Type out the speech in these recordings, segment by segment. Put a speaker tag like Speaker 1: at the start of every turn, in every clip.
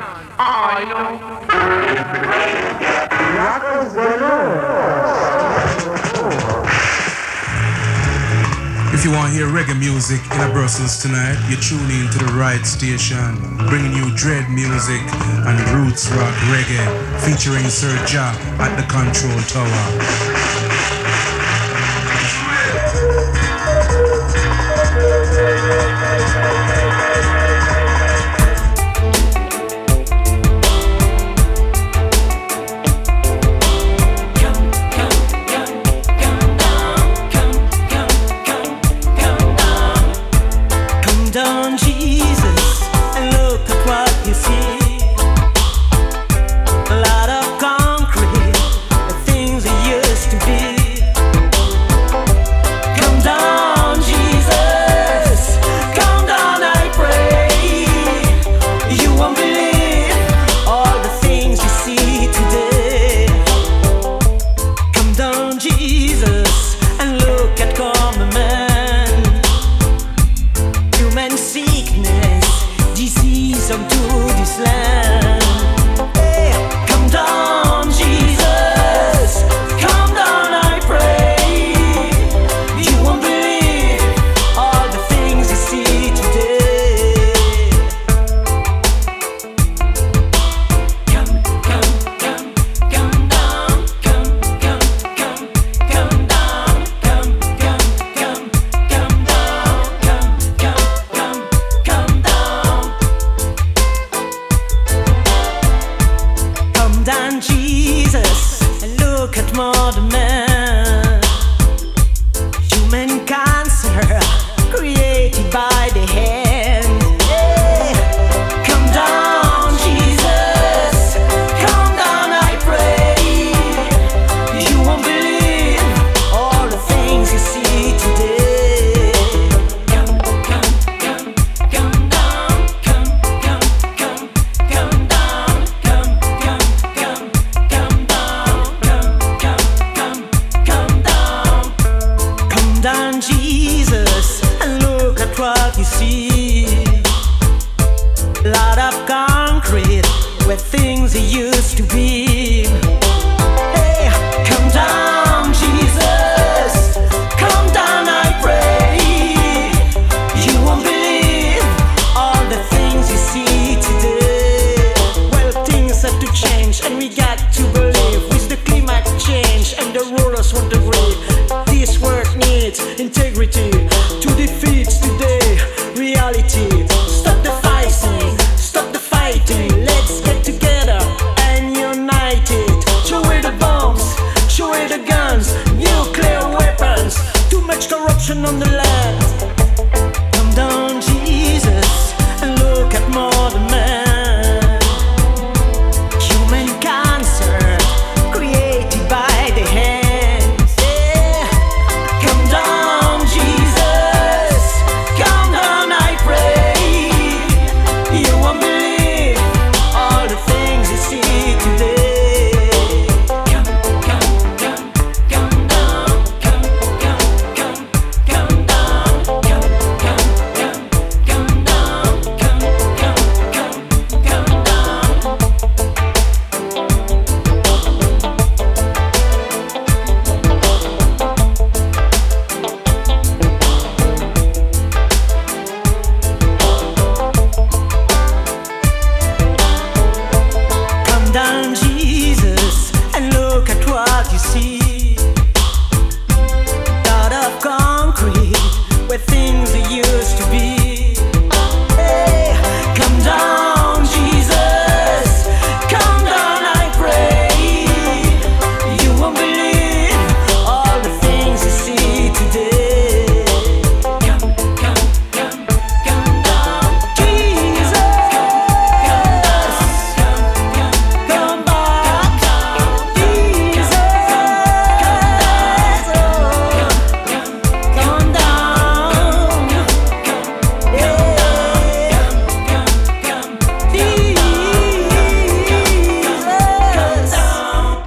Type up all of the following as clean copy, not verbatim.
Speaker 1: I know.
Speaker 2: If you want to hear reggae music in Brussels tonight, you tune in to the right station, bringing you dread music and roots rock reggae, featuring Sir Ja at the Control Tower.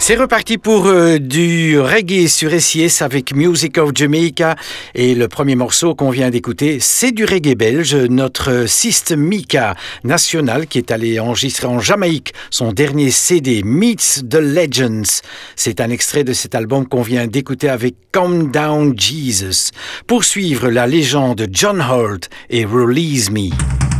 Speaker 1: C'est reparti pour du reggae sur SIS avec Music of Jamaica et le premier morceau qu'on vient d'écouter, c'est du reggae belge, notre Sist Mika national qui est allé enregistrer en Jamaïque son dernier CD Meets the Legends. C'est un extrait de cet album qu'on vient d'écouter avec Calm Down Jesus. Pour suivre la légende John Holt et Release Me.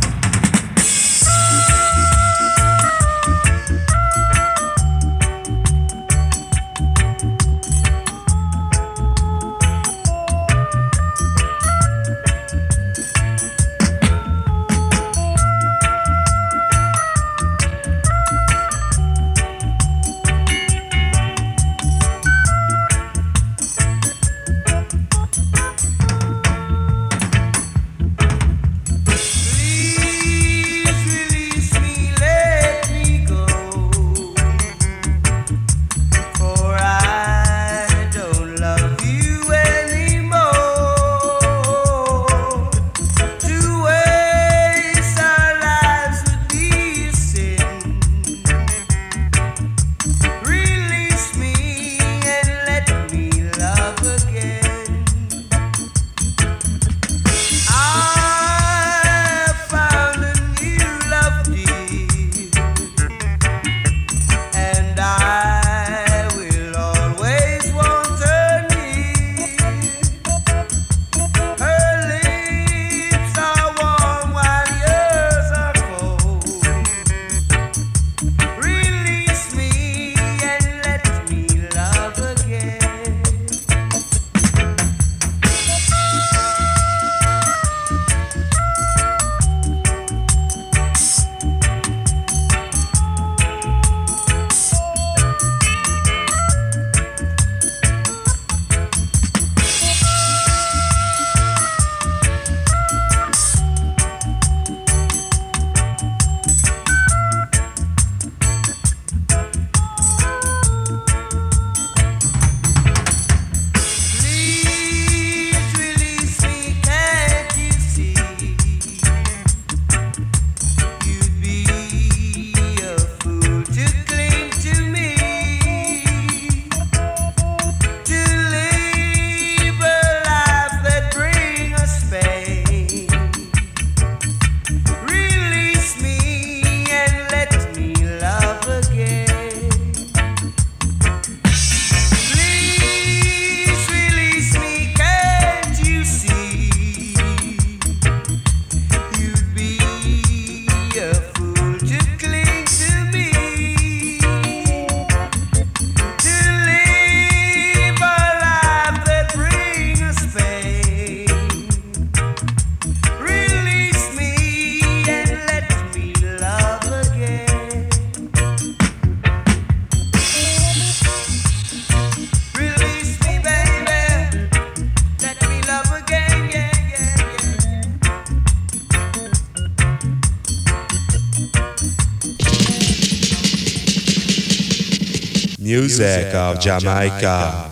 Speaker 3: Music of Jamaica.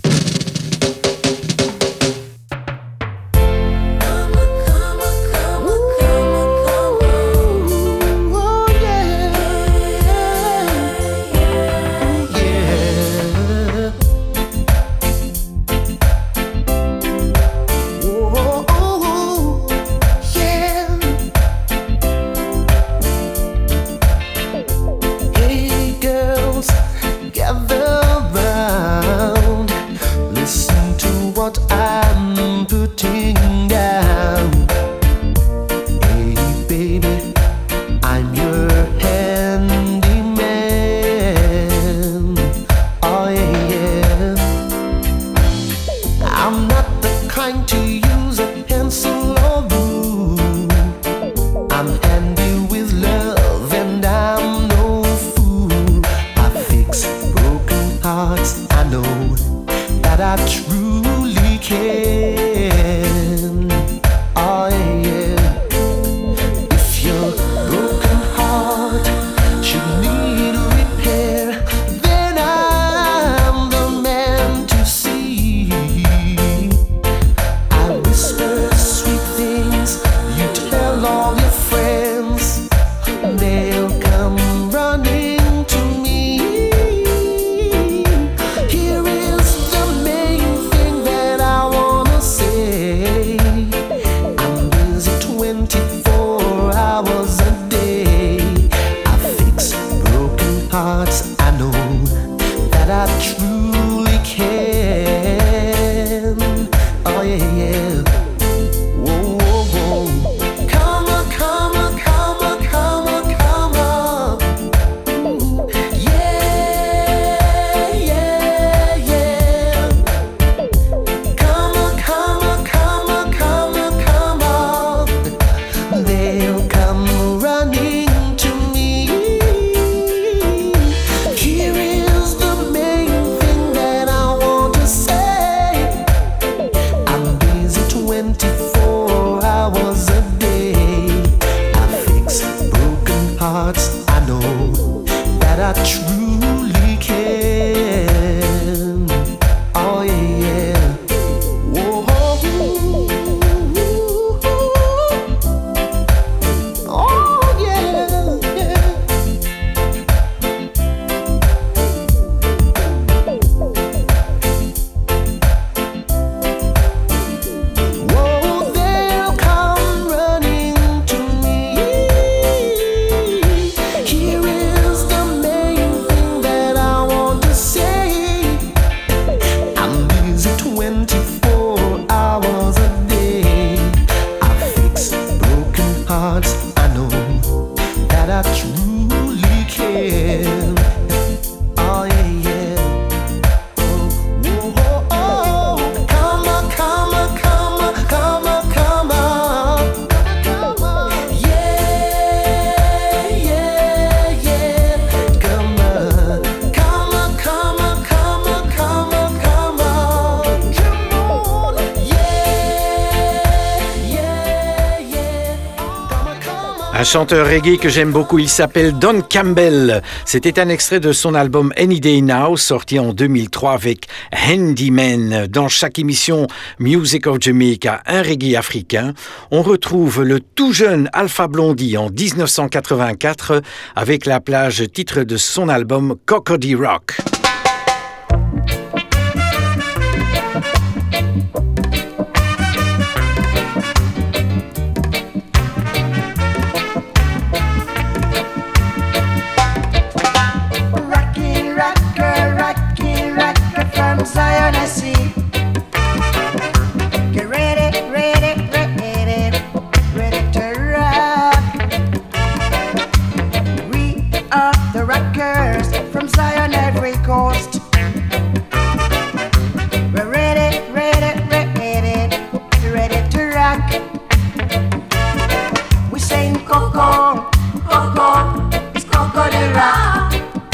Speaker 4: Gather round. hearts, I know that I truly can. Oh yeah, yeah. Whoa, whoa, whoa. Come on, come on, come on, come on, come on. Ooh, yeah, yeah, yeah. Come on, come on, come on, come on, come on. They'll come running to me. Here is the main thing that I want to say. I'm busy 24 hours a day. I fix broken hearts. I know that I truly can. Oh yeah, yeah. Whoa. Oh yeah, yeah. Whoa, they'll come running to me. Here is the main thing that I want to say. I'm busy 24 hours a day. I fix broken hearts. I know that I truly can. Oh yeah, yeah. Oh, oh, oh. Come on, come on, come on, come on, come on. Come on. Yeah, yeah, yeah. Come on. Come on, come on, come on, come on, come on. Come on. Yeah, yeah, yeah. Come on, come on.
Speaker 1: Un chanteur reggae que j'aime beaucoup, il s'appelle Don Campbell. C'était un extrait de son album Any Day Now, sorti en 2003 avec Handyman. Dans chaque émission Music of Jamaica, un reggae africain, on retrouve le tout jeune Alpha Blondy en 1984 avec la plage titre de son album Cocody Rock.
Speaker 5: Rocky, rocker from Zion, I see. Get ready, ready, ready, ready to rock. We are the rockers from Zion, every coast. We're ready, ready, ready, ready to rock. We sing Coco, Coco, it's Coco the rock.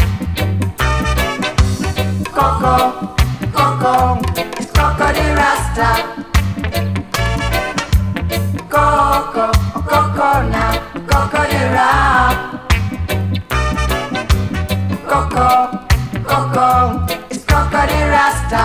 Speaker 5: Coco, Coco, it's Coco the Rasta. Coco, Coco now, Coco the rock. Coco, Coco, it's Coco the Rasta.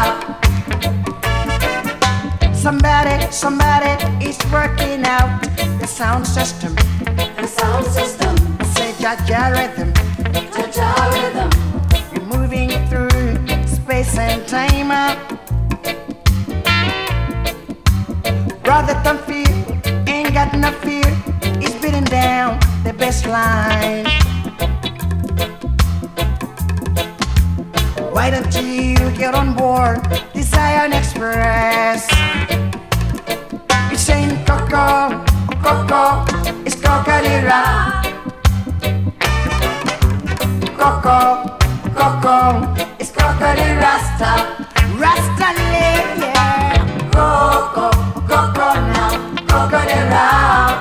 Speaker 5: Somebody is working out the sound system.
Speaker 6: The sound system,
Speaker 5: Say Jaja rhythm.
Speaker 6: Jaja rhythm,
Speaker 5: You're moving through space and time. Brother, don't fear, ain't got no fear. He's beating down the best line. Why don't you get on board the Zion Express? It's saying Coco, Coco, it's Coco the rock. Coco, Coco, it's Coco the Rasta. Rasta lady, yeah. Coco, Coco now, Coco the rock.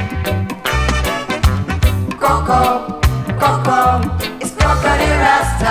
Speaker 5: Coco, Coco, it's Coco the Rasta.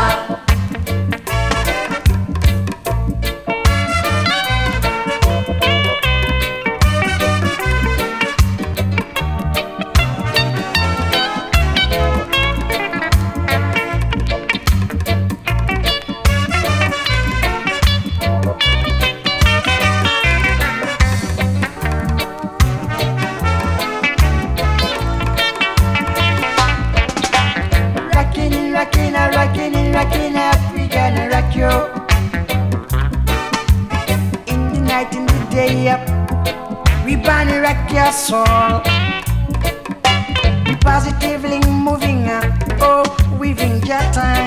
Speaker 5: Rockin' up, we gonna rock you. In the night, in the day up, we gonna rock your soul. We positively moving up, oh, weaving your time.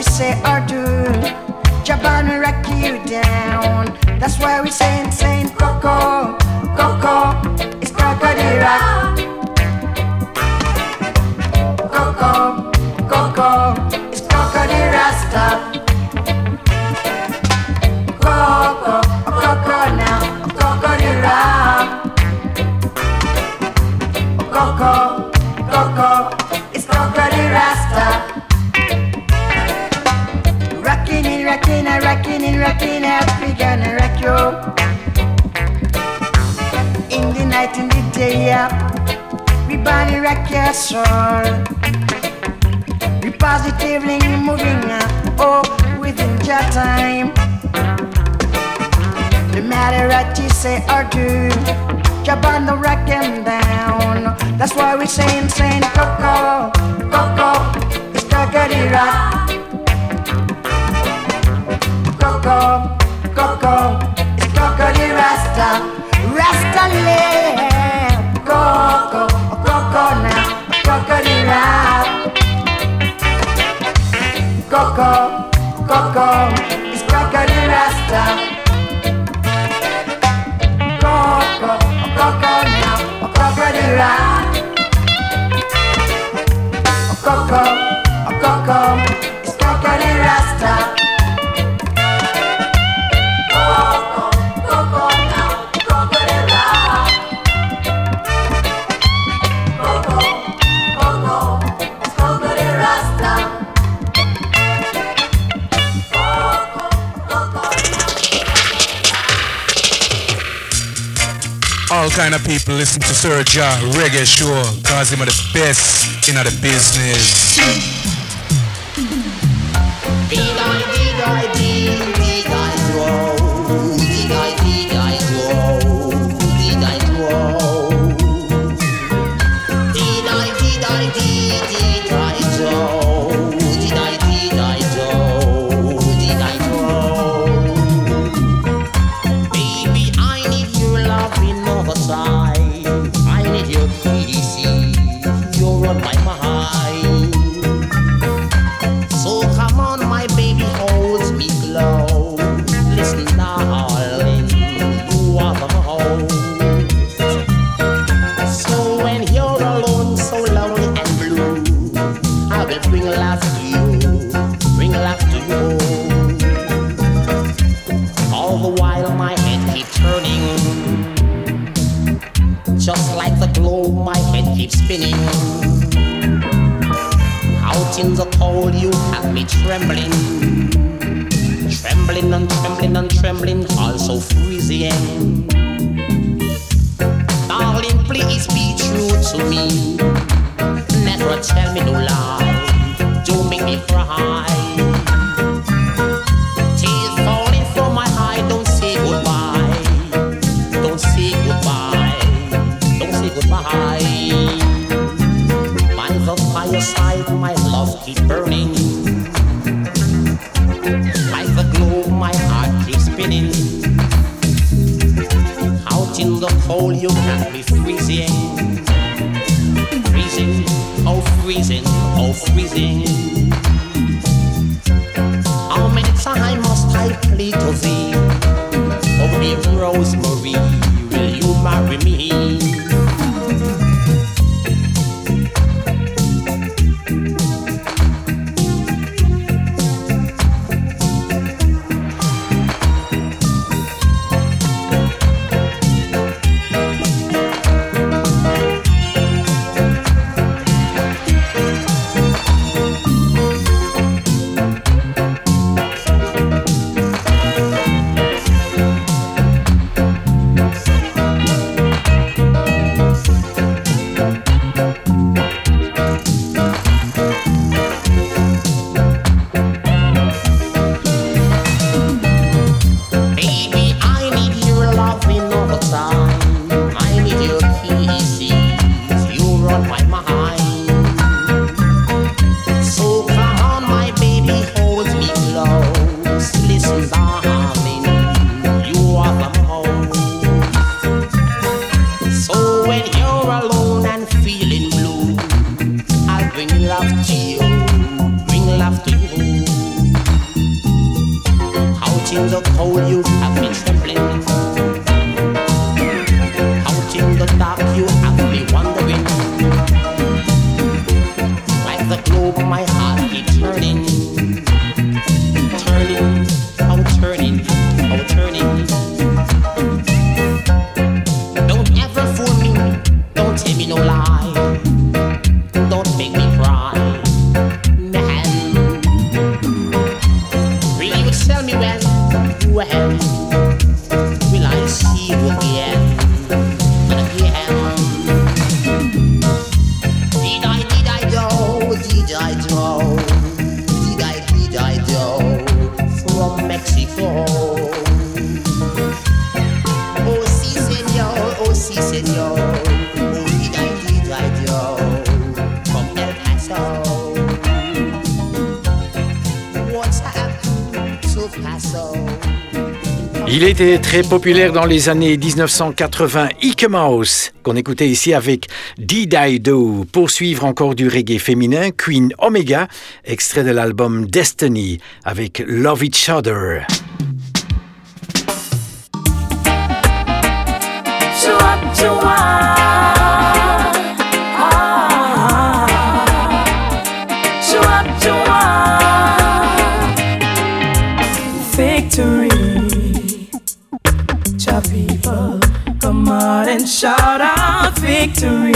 Speaker 5: say or do, Japan will rock you down. That's why we saying Coco, Coco, it's crocodile. Coco, Coco, it's crocodile Rasta. Coco, Coco now, crocodile. Coco, Coco, it's crocodile Rasta. Rockin' it, rockin' it, rockin' it, rockin' it, we gonna rock you. In the night, in the day, yeah, we body rock your soul. We positively moving, oh, within your time. No matter what you say or do, jump on the rock and down. That's why we saying Coco, Coco, it's crocodile. Coco, Coco, it's crocodile Rasta, Rasta land. Coco, Coco now, crocodile. Coco, Coco, it's crocodile Rasta. Coco, Coco now, crocodile. Coco, Coco, it's crocodile Rasta.
Speaker 2: All kind of people listen to Sir Ja Reggae Show, cause him are the best in the business.
Speaker 7: Just like the globe, my head keeps spinning. Out in the cold, you have me trembling. Trembling and trembling and trembling, also freezing. Darling, please be true to me. Never tell me no lie. Don't make me cry. Tears falling from my eye, don't say goodbye. Don't say goodbye. Goodbye. By the fireside, my love keeps burning. Like the globe, my heart keeps spinning. Out in the cold, you got me freezing. Freezing, oh freezing, oh freezing. How many times must I plead to thee? Oh dear Rosemary, will you marry me? love to you, bring love to you. in the cold you have been trembling. Out in the dark you have been wandering. Like the globe my heart keeps turning. Turning, oh turning, oh turning. Don't ever fool me, don't tell me no lie. Don't make me cry, man. Will you tell me when will I see you again and again? Did I do from Mexico? Oh si senor, oh si senor. Oh did I do from El Paso? What's happened to Paso?
Speaker 1: Il était très populaire dans les années 1980, Ike Mouse, qu'on écoutait ici avec Did I Do. Pour suivre encore du reggae féminin, Queen Omega, extrait de l'album Destiny avec Love Each Other.
Speaker 8: Victory. People, come on and shout out victory.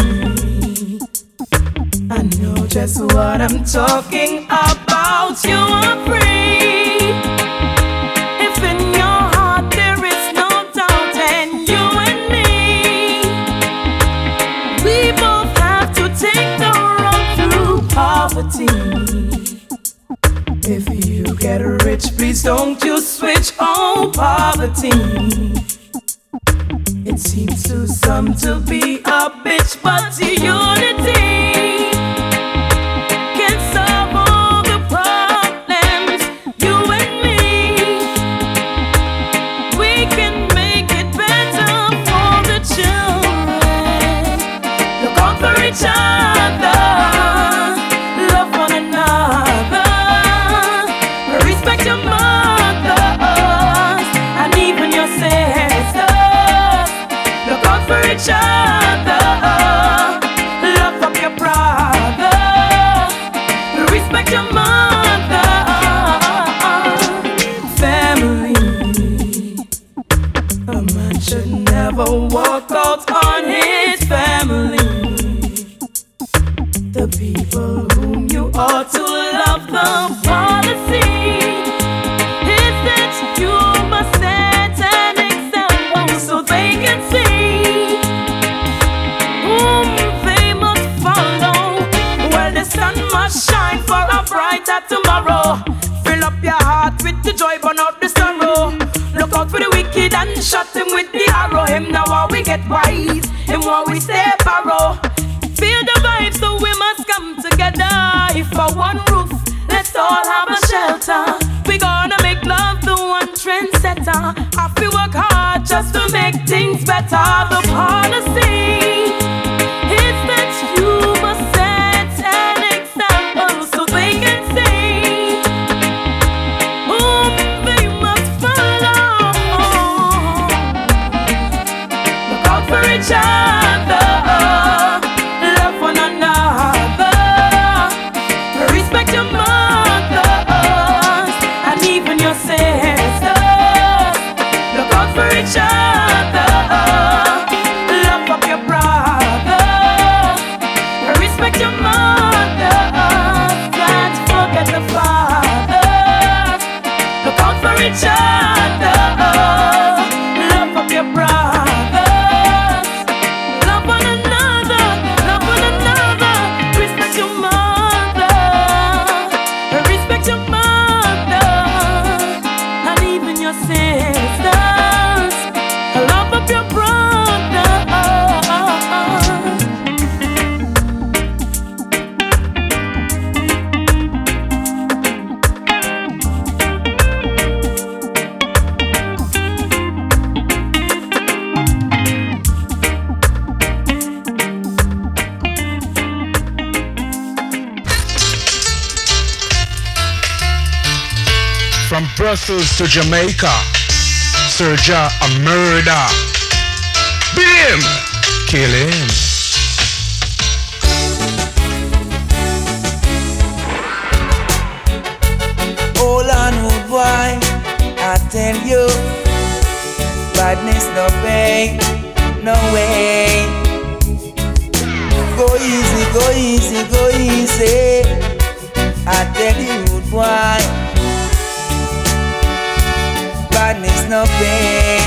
Speaker 8: I know just what I'm talking about. You are free. If in your heart there is no doubt, and you and me, we both have to take the road through poverty. If you get rich, please don't you switch on poverty. It seems to some to be a bitch, but unity can solve all the problems. You and me, we can make it better for the children. Look out for each other, love one another, respect your mothers and even your sisters. For each other, love up your brother, respect your mother. Family, a man should never walk out on his family. The people whom you ought to love, the policy is that you must set an example so they can see shine for a brighter tomorrow. Fill up your heart with the joy, burn out the sorrow. Look out for the wicked and shut him with the arrow. Him now while we get wise, him while we stay barrow. Feel the vibe, so we must come together. If for one roof, let's all have a shelter. We gonna make love the one trendsetter. I feel work hard just to make things better. The policy is that you must set an example so they can see whom they must follow. Look out for each other, love one another, respect your mothers and even your sisters. Look out for each other, love up your brothers, respect your mothers, can't forget the fathers. Look out for each other, love up your brothers, love one another, respect your mother, respect your mother, and even your sisters. Love up your brother.
Speaker 2: From Brussels to Jamaica, Sir Ja a murder. Beat him, kill him.
Speaker 9: Hold on, rude boy, I tell you, badness no pay, no way. Go easy, go easy, go easy. I tell you, rude boy, badness no pay.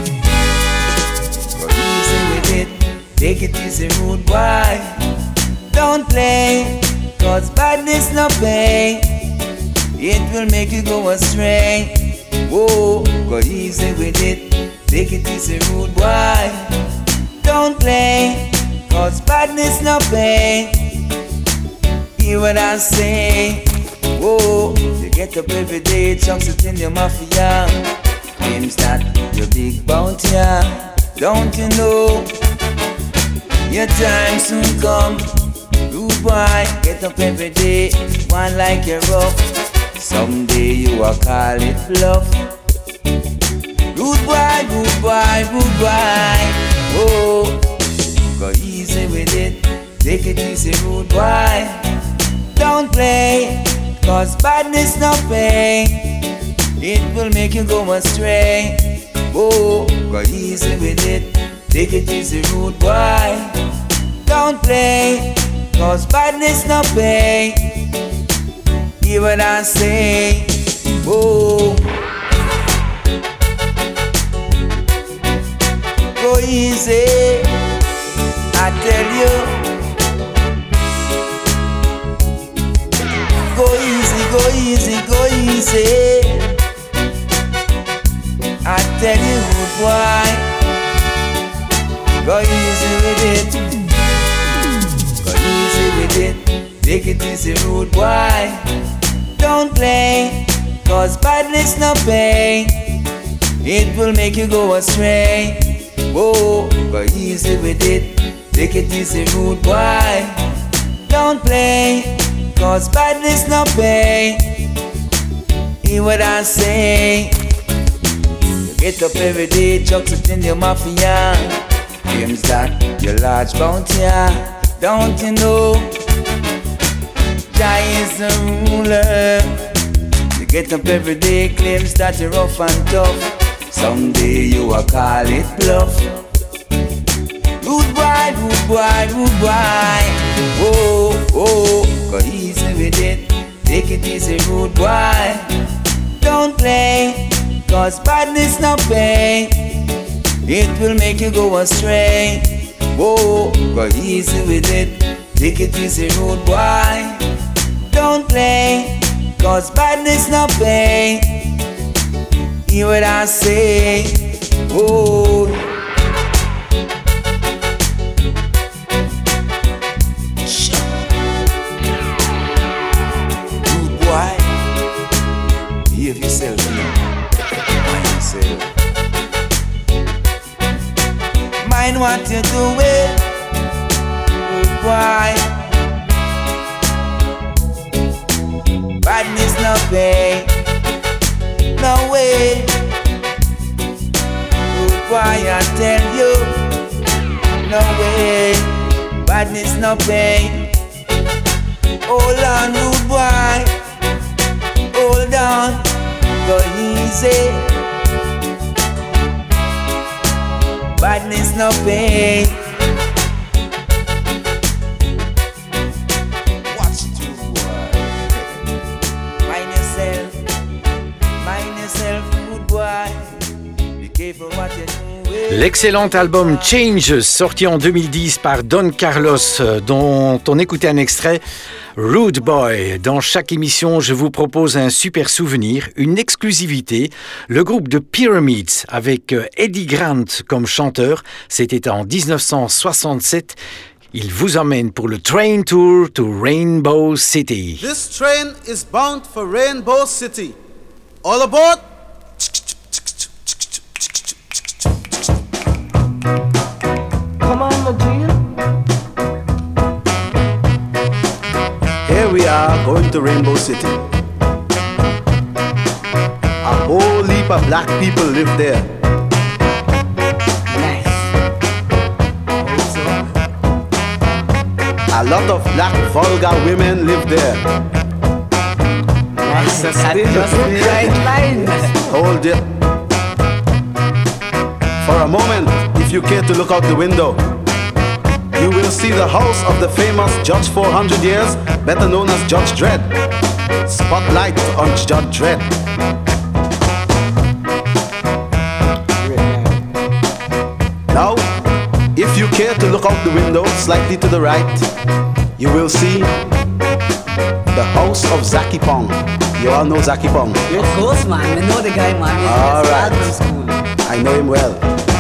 Speaker 9: Go easy with it, take it easy, rude boy. Don't play, cause badness no pay. It will make you go astray. Whoa, go easy with it, take it easy, rude boy. Don't play, cause badness no pay. Hear what I say. Whoa, you get up every day, chunks it in your mafia. Claims that you're big bounty, don't you know? Your time soon come. Rude boy, get up every day, one like you're rough. Someday you will call it bluff. Rude boy, rude boy, rude boy. Oh, go easy with it, take it easy, rude boy. Don't play, cause badness no pay. It will make you go astray. Oh, go easy with it, take it easy, rude boy. Don't play, cause badness no pay. Hear what I say. Oh, go easy, I tell you. Go easy, go easy, go easy. I tell you, boy. Go easy with it. Go easy with it. Take it easy, rude boy. Don't play, cause badness no pay. It will make you go astray. Whoa, go easy with it, take it easy, rude boy. Don't play, cause badness no pay. Hear what I say. You get up every day, chucks it in your mafia. Claims that you're large bounty, don't you know? Jah is the ruler. You get up every day, claims that you're rough and tough. Someday you will call it bluff. Rude boy, rude boy, rude boy. Oh, oh, go easy with it, take it easy, rude boy. Don't play, cause badness no pay. It will make you go astray. Oh, go easy with it, take it easy, rude boy. Don't play, cause badness no pay. Hear what I say. Oh, rude boy, behave yourself, you know. Mind yourself. Mind what you're doing, rude boy. Badness no pay, no way. Rude boy, I tell you, no way. Badness no pay. Hold on, rude boy, hold on, go easy. Badness no pay.
Speaker 1: L'excellent album Changes, sorti en 2010 par Don Carlos, dont on écoutait un extrait, Rude Boy. Dans chaque émission, je vous propose un super souvenir, une exclusivité. Le groupe de Pyramids, avec Eddie Grant comme chanteur, c'était en 1967. Il vous emmène pour le Train Tour to Rainbow City.
Speaker 10: This train is bound for Rainbow City. All aboard!
Speaker 4: Come on, my dear.
Speaker 10: Here we are going to Rainbow City. A whole heap of black people live there. A lot of black vulgar women live there. Hold it. For a moment, if you care to look out the window, you will see the house of the famous Judge 400 years, better known as Judge Dredd. Spotlight on Judge Dredd. Now, if you care to look out the window slightly to the right, you will see the house of Zaki Pong. You all know Zaki Pong?
Speaker 11: Of course, man. I know the guy, man.
Speaker 10: All right. I know him well.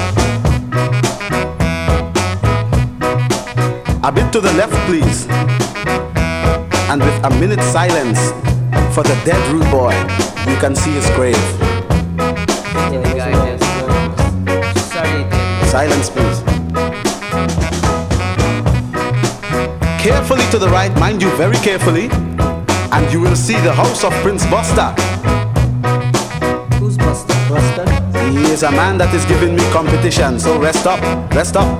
Speaker 10: A bit to the left, please. And with a minute's silence for the dead rude boy, you can see his grave. Silence, please. Carefully to the right, mind you, very carefully, and you will see the house of Prince Buster.
Speaker 11: Who's Buster? Buster?
Speaker 10: He is a man that is giving me competition, so rest up, rest up.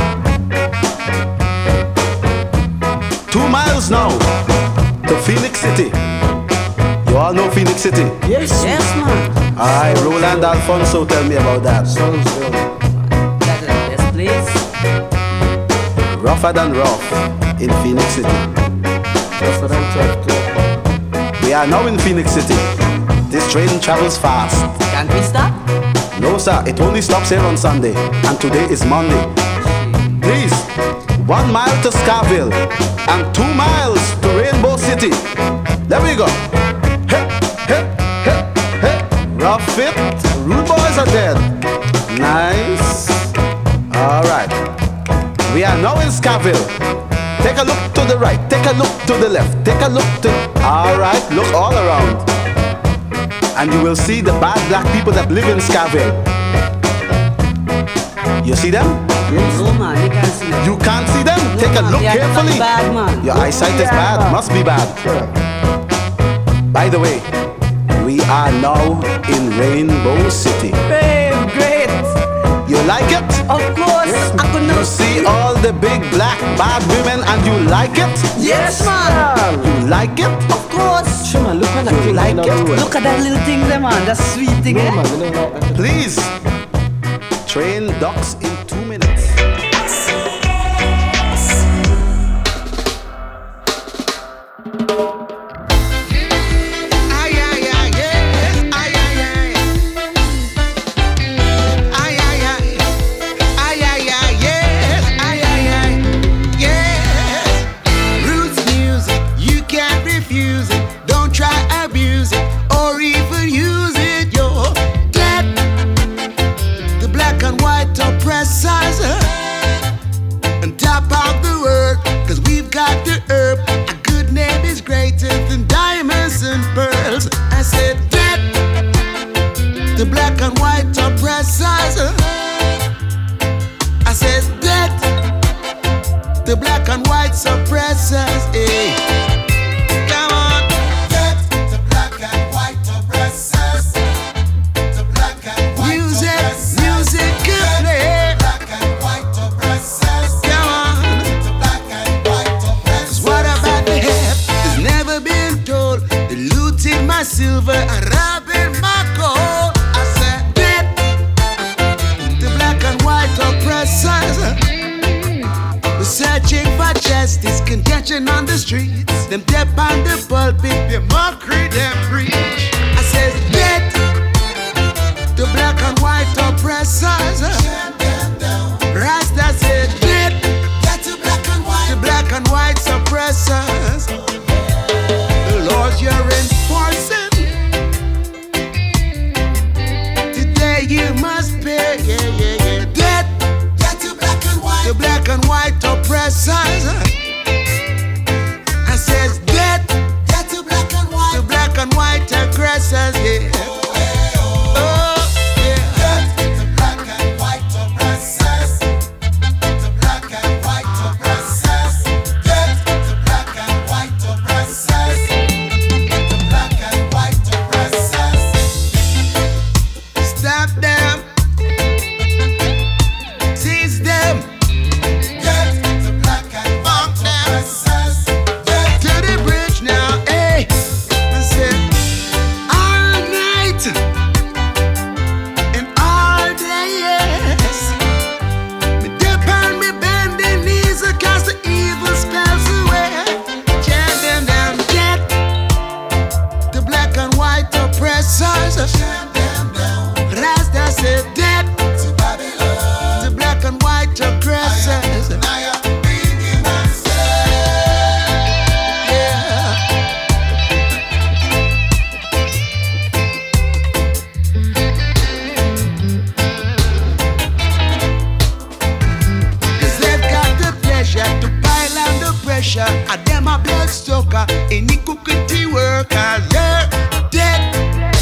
Speaker 10: 2 miles now to Phoenix City. You all know Phoenix City?
Speaker 11: Yes, yes, man.
Speaker 10: Aye, Roland Alfonso, tell me about that.
Speaker 11: Sounds good. That's the best place.
Speaker 10: Rougher than rough in Phoenix City.
Speaker 11: Rougher than tough too.
Speaker 10: We are now in Phoenix City. This train travels fast.
Speaker 11: Can't we stop?
Speaker 10: No, sir, it only stops here on Sunday, and today is Monday. Please, 1 mile to Scarville and 2 miles to Rainbow City. There we go. Hey, hey, hey, hey. Rough fit, rude boys are dead. Nice. All right. We are now in Scarville. Take a look to the right, take a look to the left, take a look to... All right, look all around. And you will see the bad black people that live in Scarville. You see them?
Speaker 11: Yes. No, man, you can't see them.
Speaker 10: You can't see them?
Speaker 11: No,
Speaker 10: take a
Speaker 11: man,
Speaker 10: look carefully.
Speaker 11: Bad, man.
Speaker 10: Your eyesight is bad, must be bad. By the way, we are now in Rainbow City.
Speaker 11: Babe, great.
Speaker 10: You like it?
Speaker 11: Of course. Yes. I could not
Speaker 10: you see all the big black bad women and you like it?
Speaker 11: Yes, man.
Speaker 10: You like it?
Speaker 11: Of course.
Speaker 12: Sure, man, look at that thing.
Speaker 10: Like it?
Speaker 11: Look at that little thing there, man. That sweet thing,
Speaker 12: no,
Speaker 11: eh?
Speaker 12: Man,
Speaker 10: please. Train docks in 2 minutes.
Speaker 12: boss joker, iniquity worker, yeah, dead.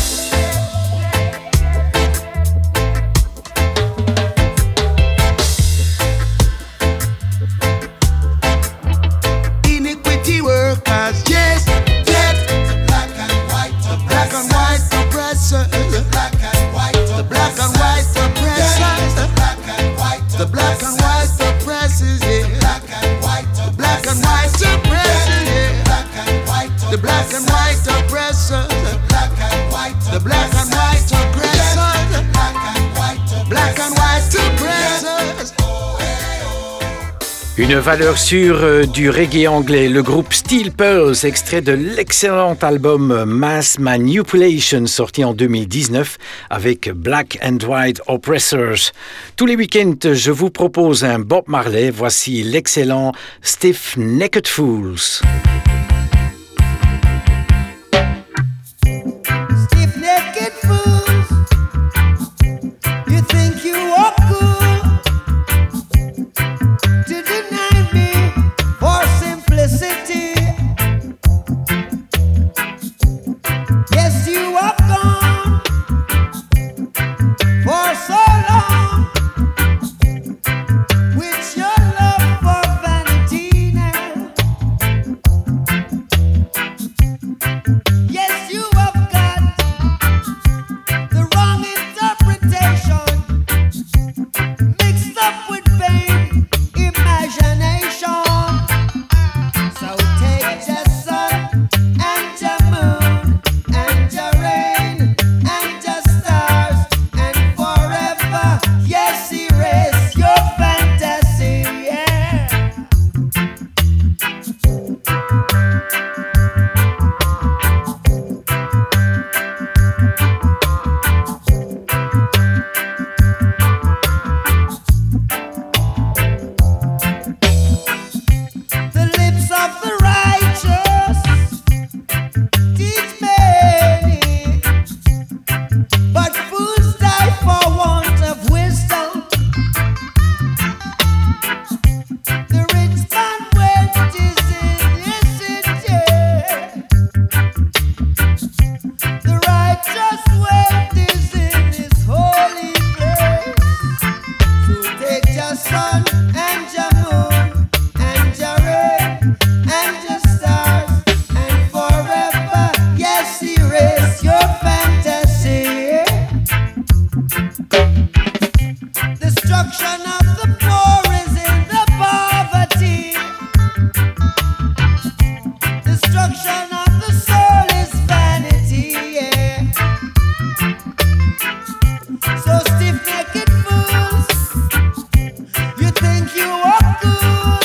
Speaker 12: Iniquity workers, yes, dead. Black and white oppressors. The black and white oppressors. The black and white oppressors, yeah. Black and white oppressors, yeah. The black and white oppressors. The black and white oppressors. Black and white oppressors.
Speaker 1: Une valeur sûre du reggae anglais, le groupe Steel Pulse, extrait de l'excellent album Mass Manipulation, sorti en 2019 avec Black and White Oppressors. Tous les week-ends, je vous propose un Bob Marley. Voici l'excellent Stiff Necked Fools.
Speaker 13: Stiff necked fools, you think you are cool to deny me for simplicity. Yes, you are gone for so long with your love for vanity now. Yes, you have got the wrong interpretation mixed up with vain imagination. So take your sun and your moon and your rain and your stars and forever, yes, erase your fantasy, yeah. The lips of the righteous teach many, but fools die for want of wisdom. The rich man went his illicit, yeah. The righteous went is in his holy place. So take your sun and your moon and your rain and your stars and forever, yes, erase your fantasy. Destruction of the poor is in the poverty. Destruction of the soul is vanity, yeah. So stiff-necked fools, you think you are cool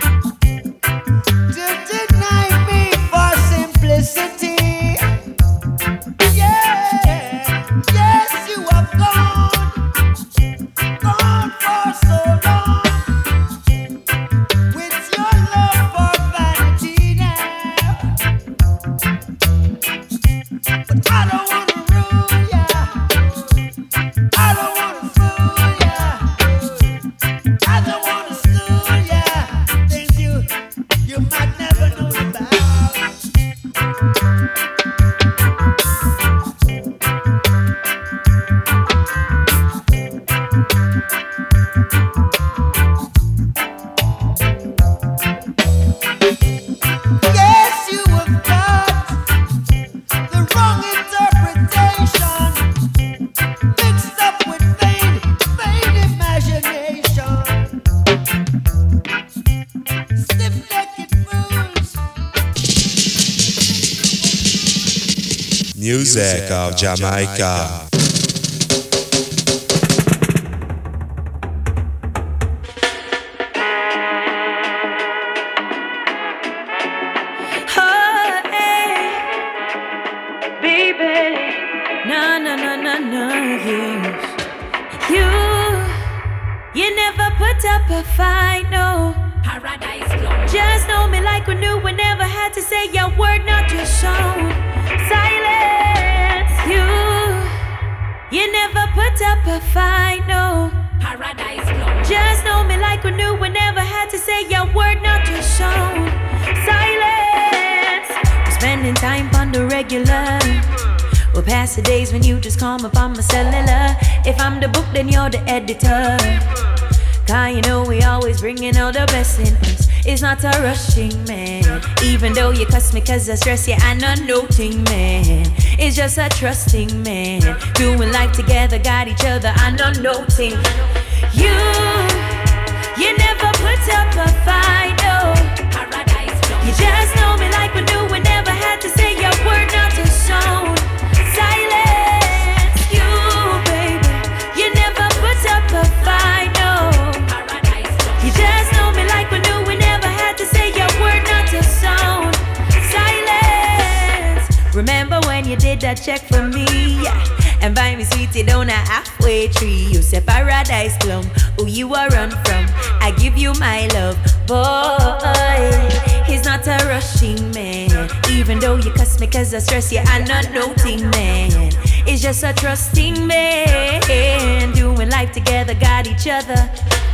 Speaker 13: to deny me for simplicity. Yeah, yes, you have gone for so long with your love for vanity now. But I don't wanna rule ya, I don't wanna fool ya, I don't wanna school ya, things you might never know about. Yes, you have got the wrong interpretation mixed up with vain imagination. Stiff-necked fools.
Speaker 3: Music of Jamaica.
Speaker 8: Oh, hey, baby, no, you never put up a fight, no. Paradise Club. Just know me like we knew, we never had to say your word, not your song. Silence, you never put up a fight, no. Paradise Club. Just know me like we knew, we never had to say your word, not your song. Silence.
Speaker 14: regular. We'll pass the days when you just call me on my cellular. If I'm the book, then you're the editor. Cause you know we always bringing out the best in us. It's not a rushing, man. Even though you cuss me cause I stress you, I'm not noting, man. It's just a trusting, man. Doing life together, got each other, I'm not noting. You never put up a fight, no. You just know me like we knew, we never had to say a word, not a sound. Silence, you, baby. You never put up a fight, no. You just know me like we knew, we never had to say a word, not a sound. Silence. Remember when you did that check for me, yeah, and buy me sweetie down a halfway tree. You said paradise plum, who you are run from. I give you my love, boy. He's not a rushing man. Even though you cuss me cause I stress you, I'm not noting, man. It's just a trusting man. Doing life together, got each other.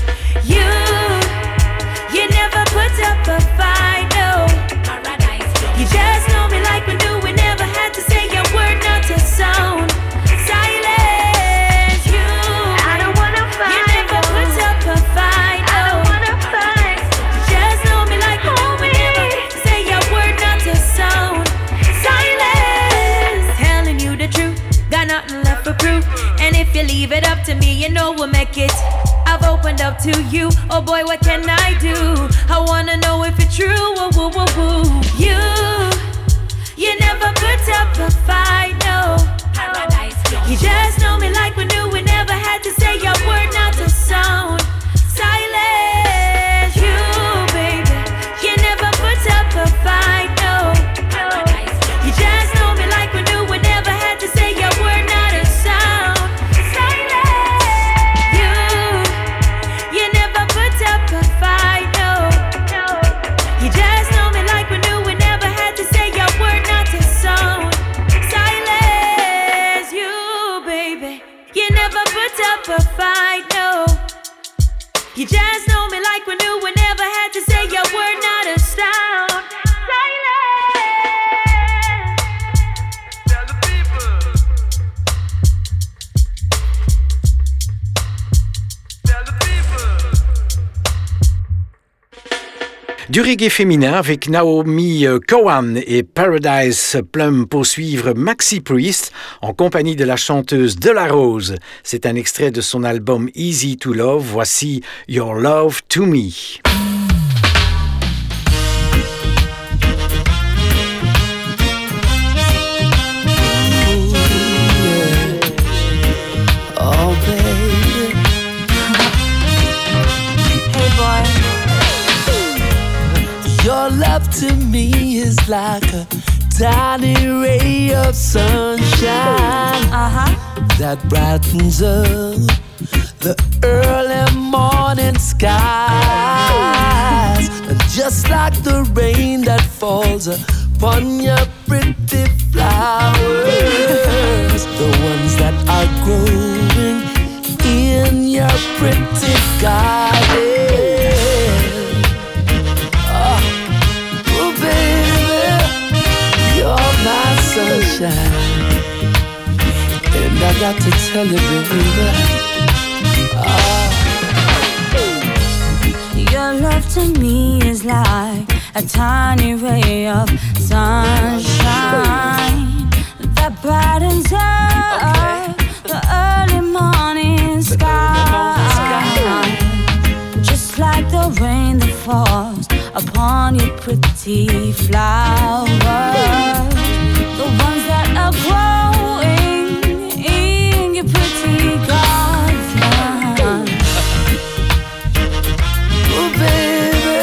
Speaker 14: You never put up a fight, no. You just know me like we knew, we never had to say a word, not a sound. Silence, you. I don't wanna fight. You never put up a fight, no. I don't wanna fight. You just know me like we knew, we never had to say a word, not a sound. Silence, telling you the truth, got nothing left for proof. And if you leave it up to me, you know we'll make it. I've opened up to you, oh boy, what can I do? I wanna know if it's true, woo, woo, woo, woo. You never put up a fight, no. You just know me like we knew, we never had to say a word, not a sound. Silence, you, baby. You never put up a fight, no. You just know me like we knew, we never had to say a word, not a sound. You never put up a fight, no. You just know me like we knew, we never had to say a word, not a sound. Silence, you, baby. You never put up a fight, no. You just know me like we knew, we never had to say a word, not a sound.
Speaker 1: Du reggae féminin avec Naomi Cowan et Paradise Plum pour suivre Maxi Priest en compagnie de la chanteuse De La Rose. C'est un extrait de son album Easy to Love. Voici Your Love to Me.
Speaker 4: Oh, baby.
Speaker 14: Hey, boy.
Speaker 4: Your love to me is like a tiny ray of sunshine that brightens up the early morning skies. And just like the rain that falls upon your pretty flowers, the ones that are growing in your pretty garden. Sunshine. And I got to tell you, baby,
Speaker 14: your love to me is like a tiny ray of sunshine that brightens up the early morning sky. Just like the rain that falls upon your pretty flowers, the ones that are growing in your pretty garden.
Speaker 4: Oh, baby,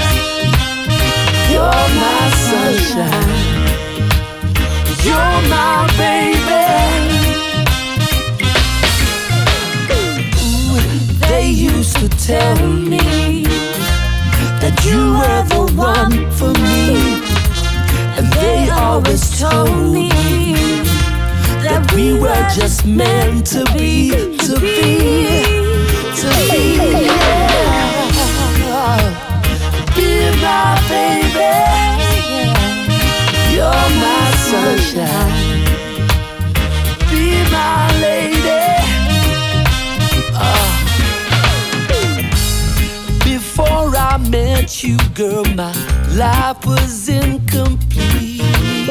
Speaker 4: you're my sunshine. You're my baby. Ooh, they used to tell me that you were the one for me. And they always told me that we were just meant to be, to be. Be my baby, you're my sunshine.
Speaker 15: you, girl, my life was incomplete.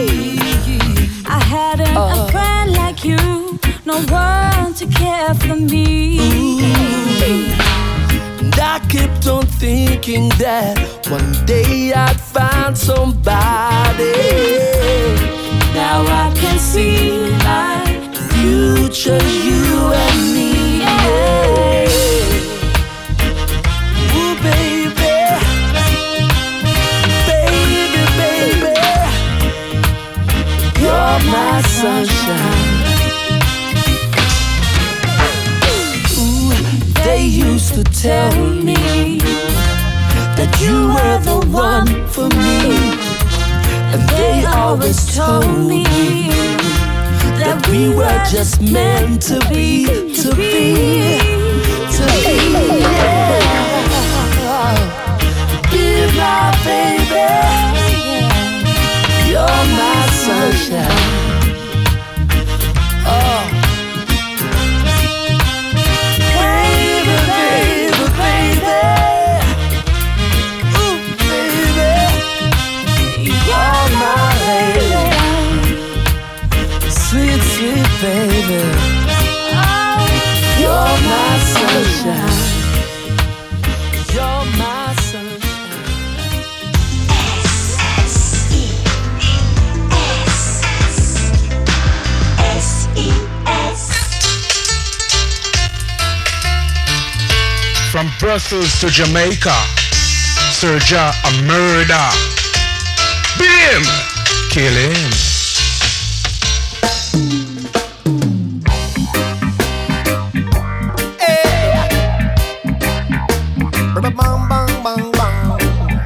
Speaker 14: I hadn't a friend like you, no one to care for me.
Speaker 15: And I kept on thinking that one day I'd find somebody.
Speaker 14: Now I can see my
Speaker 15: future, you and me. Yeah. Ooh, baby, baby, baby, you're my sunshine. Ooh, they used to tell me that you were the one for me, and they always told me that we were just meant to be, to be, to be. Yeah. Be my baby, you're my sunshine. Oh, baby, baby, baby, ooh, baby, you're my lady. Sweet, sweet baby, oh, you're my sunshine. You're my sunshine.
Speaker 14: S-E-S.
Speaker 2: From Brussels to Jamaica, Serja a murder. Beat him, kill him.
Speaker 13: Bang, bang, bang, bang.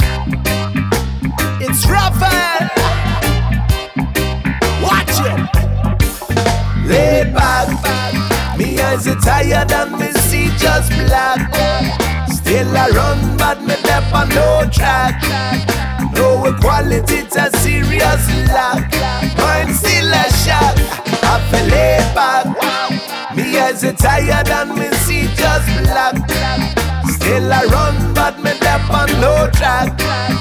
Speaker 13: It's Raphael. Watch it. Laid back, me eyes are tired and me see just black. Still I run, but me dep on no track. No equality, it's a serious lack. Mine still a shock. I feel laid back. Me eyes are tired and me see just black. Still I run, but me dep on no track.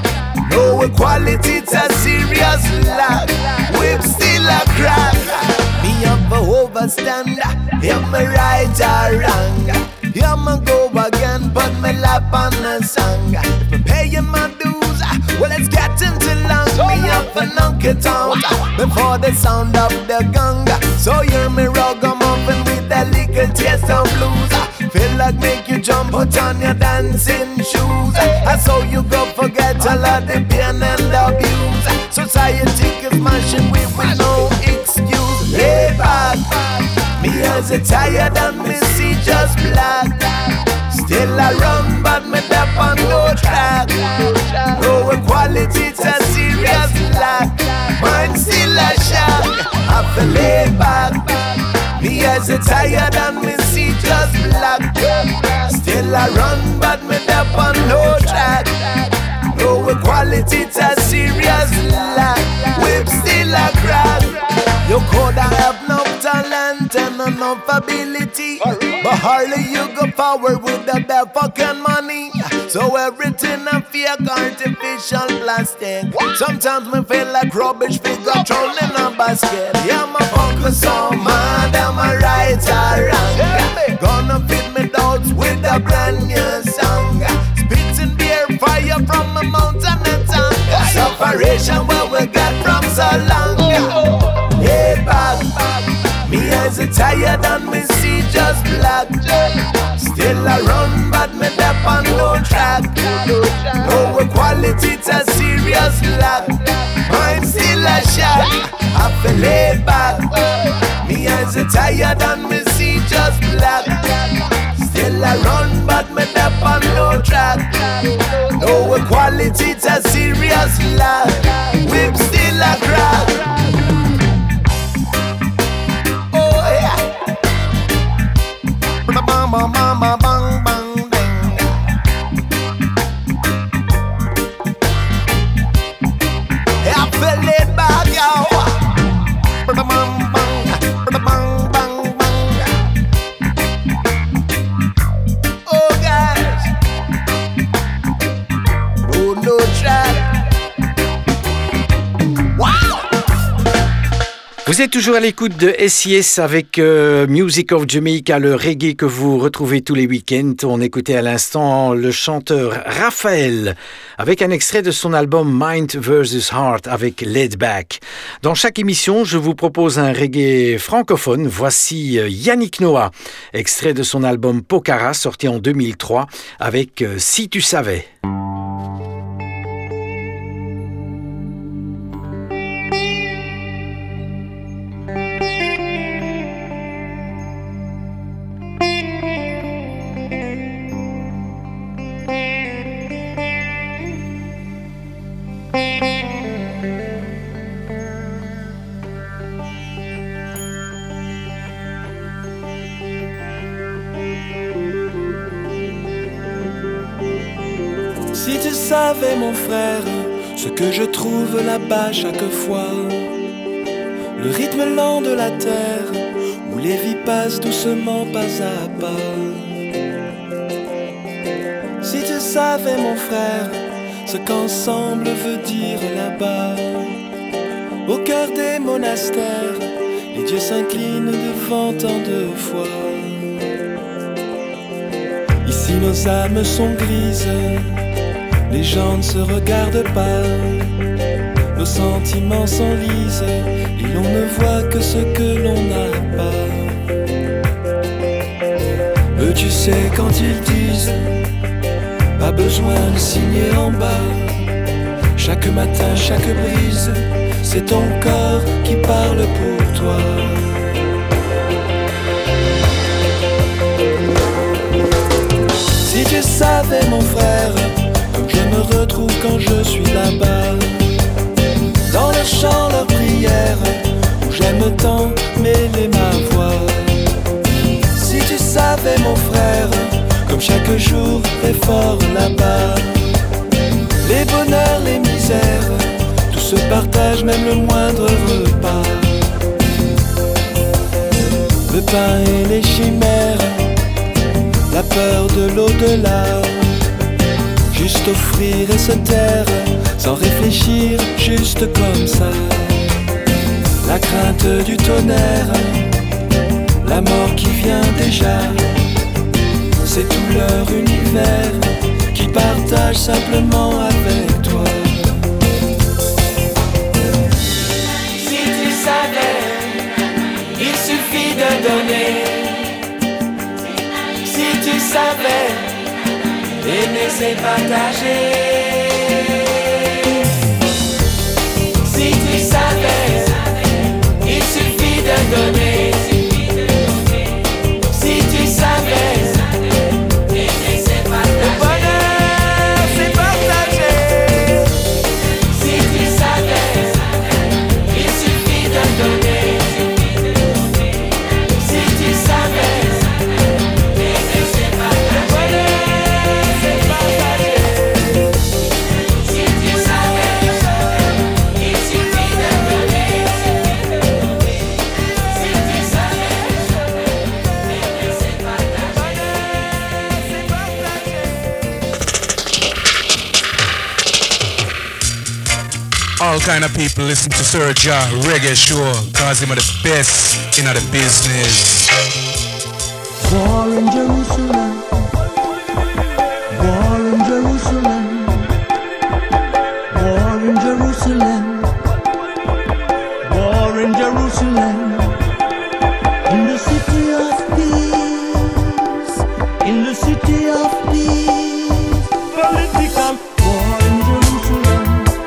Speaker 13: No equality, it's a serious lack. Whip still a crack. Me have a overstand. Am I right or wrong? Yeah, me go again, put me lap on the song. If I'm paying my dues, well it's getting too long. Me have to knock it out before the sound of the gong. So hear me ragamuffin with a little taste of blues. Feel like make you jump, put on your dancing shoes. I saw you go forget all of the pain and abuse. Society is smashing with no excuse. Lay back, me eyes are tired and me see just black. Still I run, but me dep on no track. No equality, it's a serious lack. Mine still a shock. I feel laid back. Me eyes are tired and me see just black. Still I run, but me dep on no track. No equality, it's a serious lack. Whip still a crack. You coulda have no talent and enough ability, but hardly you go forward with the fucking money. So everything a fake, artificial plastic. Sometimes me feel like rubbish figure thrown in a basket. Yeah, my focus on mad, am I right or wrong? Gonna feed me doubts with a brand new song. Spitting beer fire from a mountain and tongue. Separation where we got from so long. Head back, me eyes are tired and me see just black. Still I run, but me dep on no track. No equality, it's a serious lack. Mine still a shock. I feel laid back. Me eyes are tired and me see just black. Still I run, but me dep on no track. No equality, it's a serious lack. Whip still a crack. Mama, mama, bang, bang, bang. Hey, I feel it back, yo. Bang, bang, bang, bang, bang. Oh, guys.
Speaker 1: Vous êtes toujours à l'écoute de SIS avec Music of Jamaica, le reggae que vous retrouvez tous les week-ends. On écoutait à l'instant le chanteur Raphaël avec un extrait de son album Mind vs. Heart avec Laid Back. Dans chaque émission, je vous propose un reggae francophone. Voici Yannick Noah, extrait de son album Pokhara sorti en 2003 avec Si tu savais.
Speaker 15: Si tu savais mon frère, ce que je trouve là-bas chaque fois, le rythme lent de la terre, où les vies passent doucement pas à pas. Si tu savais mon frère, ce qu'ensemble veut dire là-bas, au cœur des monastères, les dieux s'inclinent devant tant de foi. Ici nos âmes sont grises, les gens ne se regardent pas, nos sentiments s'enlisent et l'on ne voit que ce que l'on n'a pas. Eux tu sais quand ils disent, pas besoin de signer en bas, chaque matin, chaque brise, c'est ton corps qui parle pour toi. Si tu savais mon frère, comme je me retrouve quand je suis là-bas, dans le chant, leur prière, où j'aime tant mêler ma voix. Si tu savais mon frère, comme chaque jour est fort là-bas, les bonheurs, les misères, tout se partage, même le moindre repas. Le pain et les chimères, la peur de l'au-delà, juste offrir et se taire, sans réfléchir, juste comme ça. La crainte du tonnerre, la mort qui vient déjà, c'est tout leur univers qu'ils partagent simplement avec toi. Si tu savais, il suffit de donner. Si tu savais, aimer c'est partager. Si tu savais, il suffit de donner. Si tu savais, aimer c'est partager. Le bonheur c'est partager. Si tu savais, il suffit de donner. Si tu savais, aimer c'est partager.
Speaker 2: All kind of people listen to Sir Jah Reggae Show, cause him are the best in the business.
Speaker 4: War in Jerusalem, war in Jerusalem, war in Jerusalem, war in Jerusalem, in the city of peace, in the city of peace, political war in Jerusalem,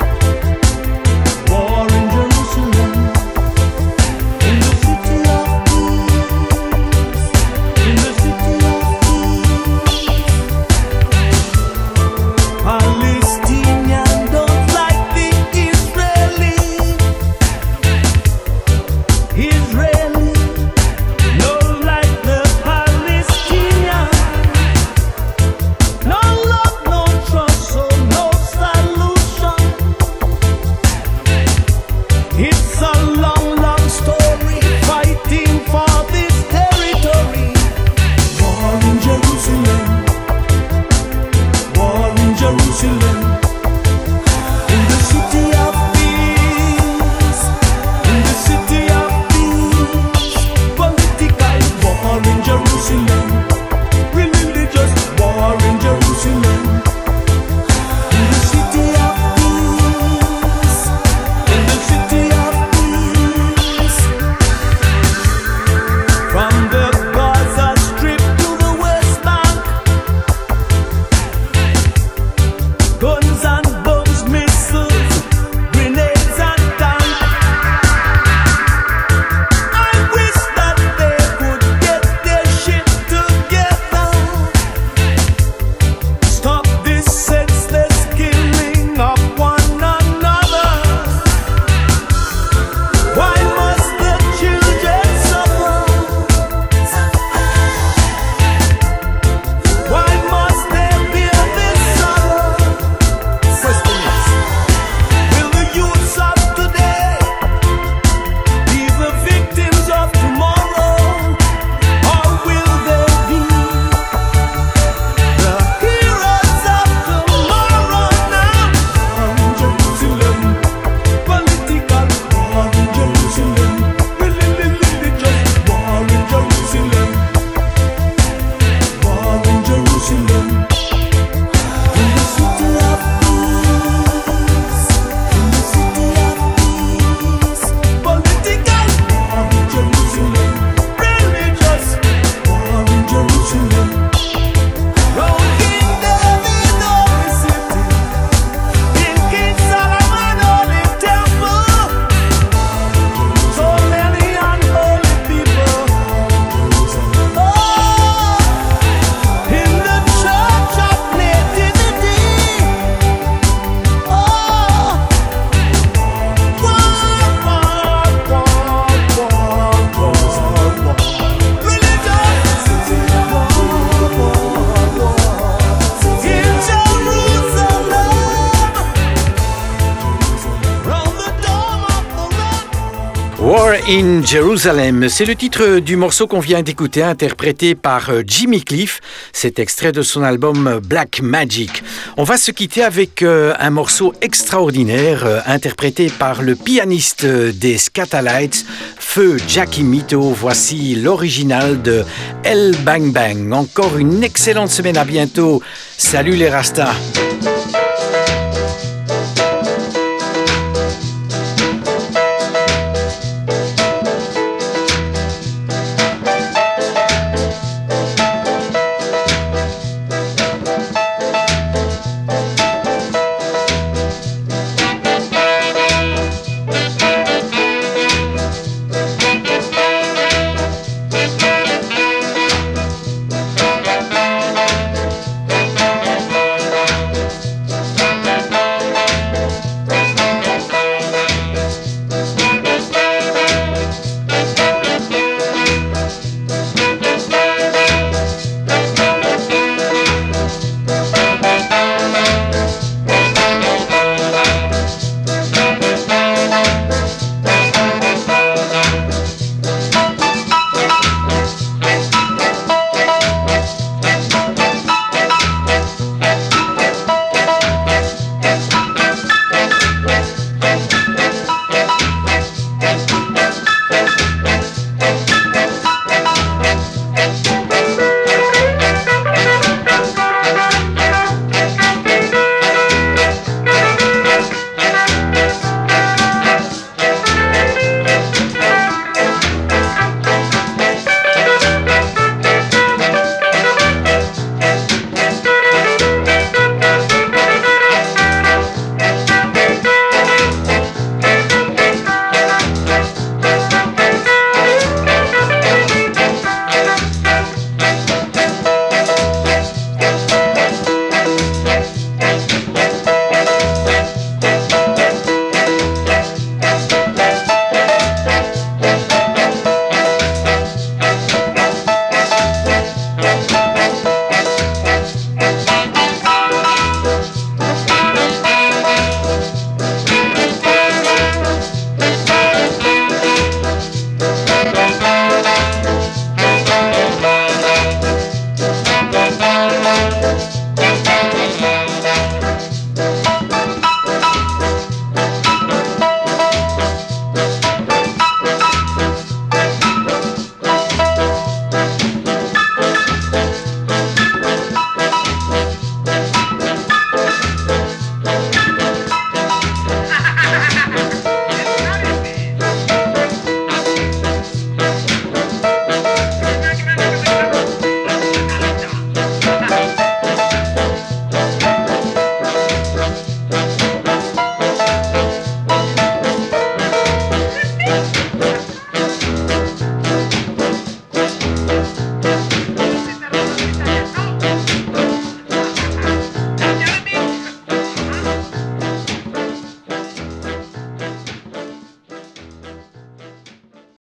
Speaker 4: war in Jerusalem, in the city of peace, in the city of peace. Palestinians don't like the Israelis.
Speaker 1: War in Jerusalem, c'est le titre du morceau qu'on vient d'écouter, interprété par Jimmy Cliff. C'est extrait de son album Black Magic. On va se quitter avec un morceau extraordinaire, interprété par le pianiste des Scatalites, Feu Jackie Mito. Voici l'original de El Bang Bang. Encore une excellente semaine, à bientôt. Salut les Rastas.